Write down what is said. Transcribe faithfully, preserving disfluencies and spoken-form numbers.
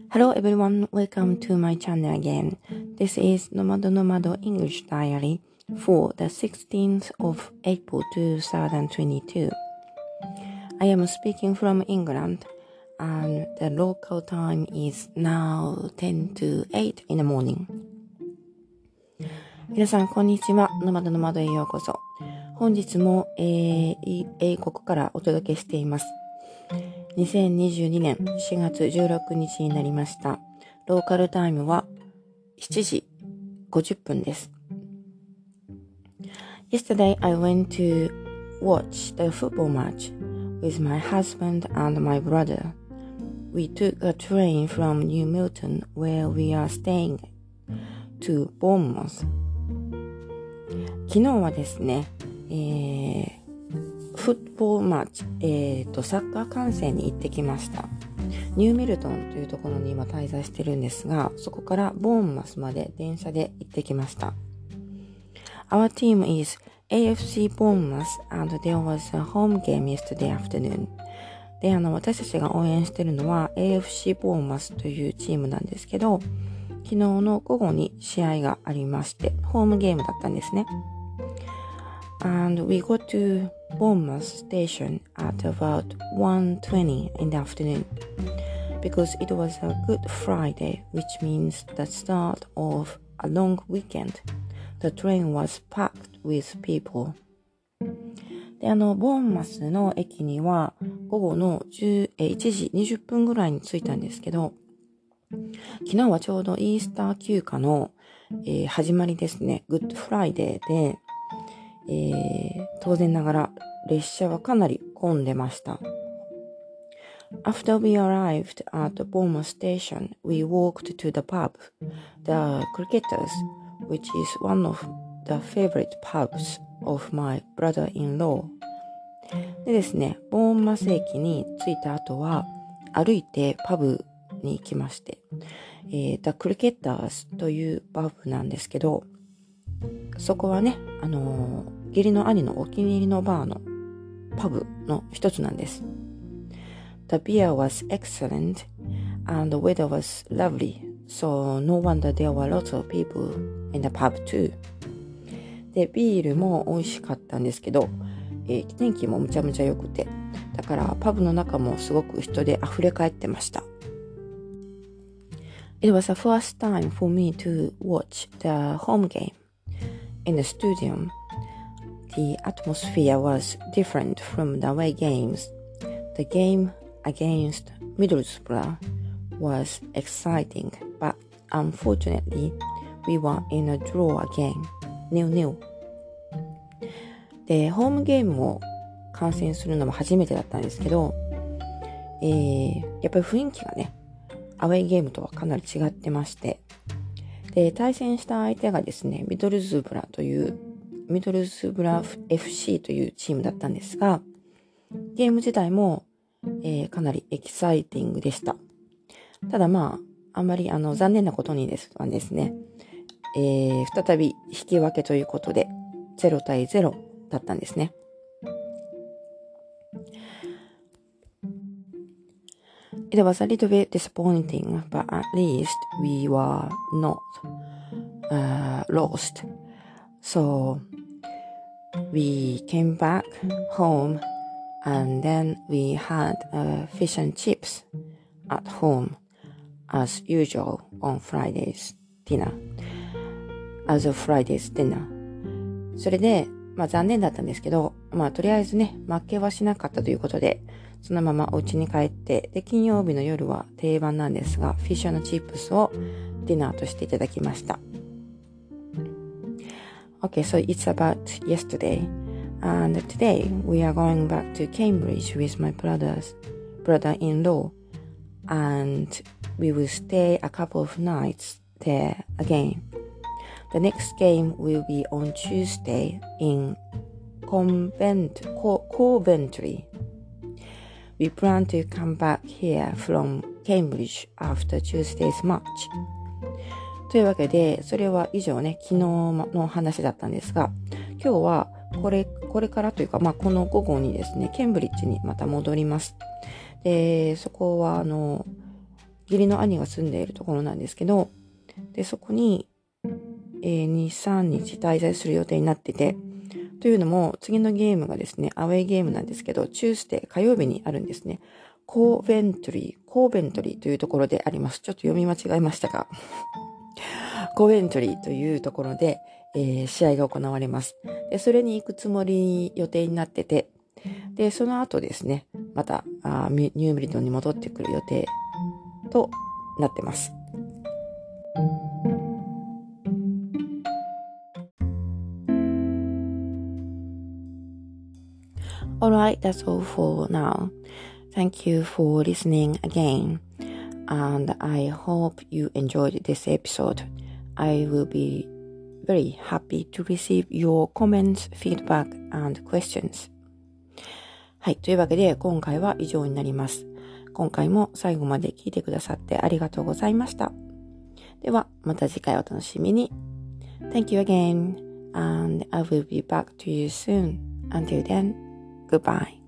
Hello everyone, welcome to my channel again. This is Nomado Nomado English Diary for the sixteenth of April twenty twenty-two. I am speaking from England and the local time is now ten to eight in the morning. 皆さんこんにちは。ノマドノマドへようこそ。本日も、えー、英国からお届けしています。にせんにじゅうにねんしがつじゅうろくにちになりました。ローカルタイムはしちじごじゅっぷんです。Yesterday I went to watch the football match with my husband and my brother. We took a train from New Milton where we are staying to Bournemouth. 昨日はですね、えーフットボールマッチ、えーと、サッカー観戦に行ってきました。ニューミルトンというところに今滞在してるんですが、そこからボーンマスまで電車で行ってきました。Our team is エーエフシー Bournemouth and there was a home game yesterday afternoon. で、あの、私たちが応援してるのは エーエフシー Bournemouth というチームなんですけど、昨日の午後に試合がありまして、ホームゲームだったんですね。And we got to Bournemouth station at about one twenty in the afternoon because it was a Good Friday, which means the start of a long weekend. The train was packed with people. で、あの、ボーンマスの駅には午後のいちじにじゅっぷんぐらいに着いたんですけど、昨日はちょうどイースター休暇の、えー、始まりですね。Good Friday で、えー、当然ながら列車はかなり混んでました。After we arrived at the Bournemouth station, we walked to the pub, the Cricketers, which is one of the favorite pubs of my brother-in-law. でですね、ボーンマス駅に着いた後は歩いてパブに行きまして、えー、The Cricketers というパブなんですけど、そこはね、あのー、義理の兄のお気に入りのバーのパブの一つなんです。The beer was excellent and the weather was lovely, so no wonder there were lots of people in the pub too. で、ビールも美味しかったんですけど、えー、天気もむちゃむちゃ良くて、だからパブの中もすごく人で溢れ返ってました。It was the first time for me to watch the home game.In the stadium, the atmosphere was different from the away games. The game against Middlesbrough was exciting, but unfortunately, we were in a draw again, nil nil. で、ホームゲームを観戦するのも初めてだったんですけど、えー、やっぱり雰囲気がね、アウェイゲームとはかなり違ってまして、で、対戦した相手がですね、ミドルズブラという、ミドルズブラ エフシー というチームだったんですが、ゲーム自体も、えー、かなりエキサイティングでした。ただまあ、あんまりあの残念なことにですはですね、えー、再び引き分けということで、ゼロたいゼロだったんですね。It was a little bit disappointing, but at least we were not uh, lost. So we came back home and then we had uh, fish and chips at home as usual on Friday's dinner. As of Friday's dinner. それで、まあ残念だったんですけど、まあとりあえずね、負けはしなかったということで、そのままお家に帰って、で、金曜日の夜は定番なんですが、フィッシュ&チップスをディナーとしていただきました。Okay, so it's about yesterday. And today we are going back to Cambridge with my brother's brother-in-law. And we will stay a couple of nights there again. The next game will be on Tuesday in Convent, Co- Coventry.We plan to come back here from Cambridge after Tuesday's match. というわけで、それは以上ね、昨日の話だったんですが、今日はこれ、これからというか、まあ、この午後にですね、ケンブリッジにまた戻ります。で、そこはあの、 義理の兄が住んでいるところなんですけど、で、そこに、えー、に、さんにち滞在する予定になってて、というのも、次のゲームがですね、アウェイゲームなんですけど、チュースデー、火曜日にあるんですね。コーベントリー、コーベントリーというところであります。ちょっと読み間違えましたが、コーベントリーというところで、えー、試合が行われます。で、それに行くつもり予定になってて、で、その後ですね、またあーニューブリトンに戻ってくる予定となってます。Alright, that's all for now. Thank you for listening again. And I hope you enjoyed this episode. I will be very happy to receive your comments, feedback, and questions. はい。というわけで、今回は以上になります。今回も最後まで聞いてくださってありがとうございました。では、また次回お楽しみに。Thank you again, and I will be back to you soon. Until then, goodbye.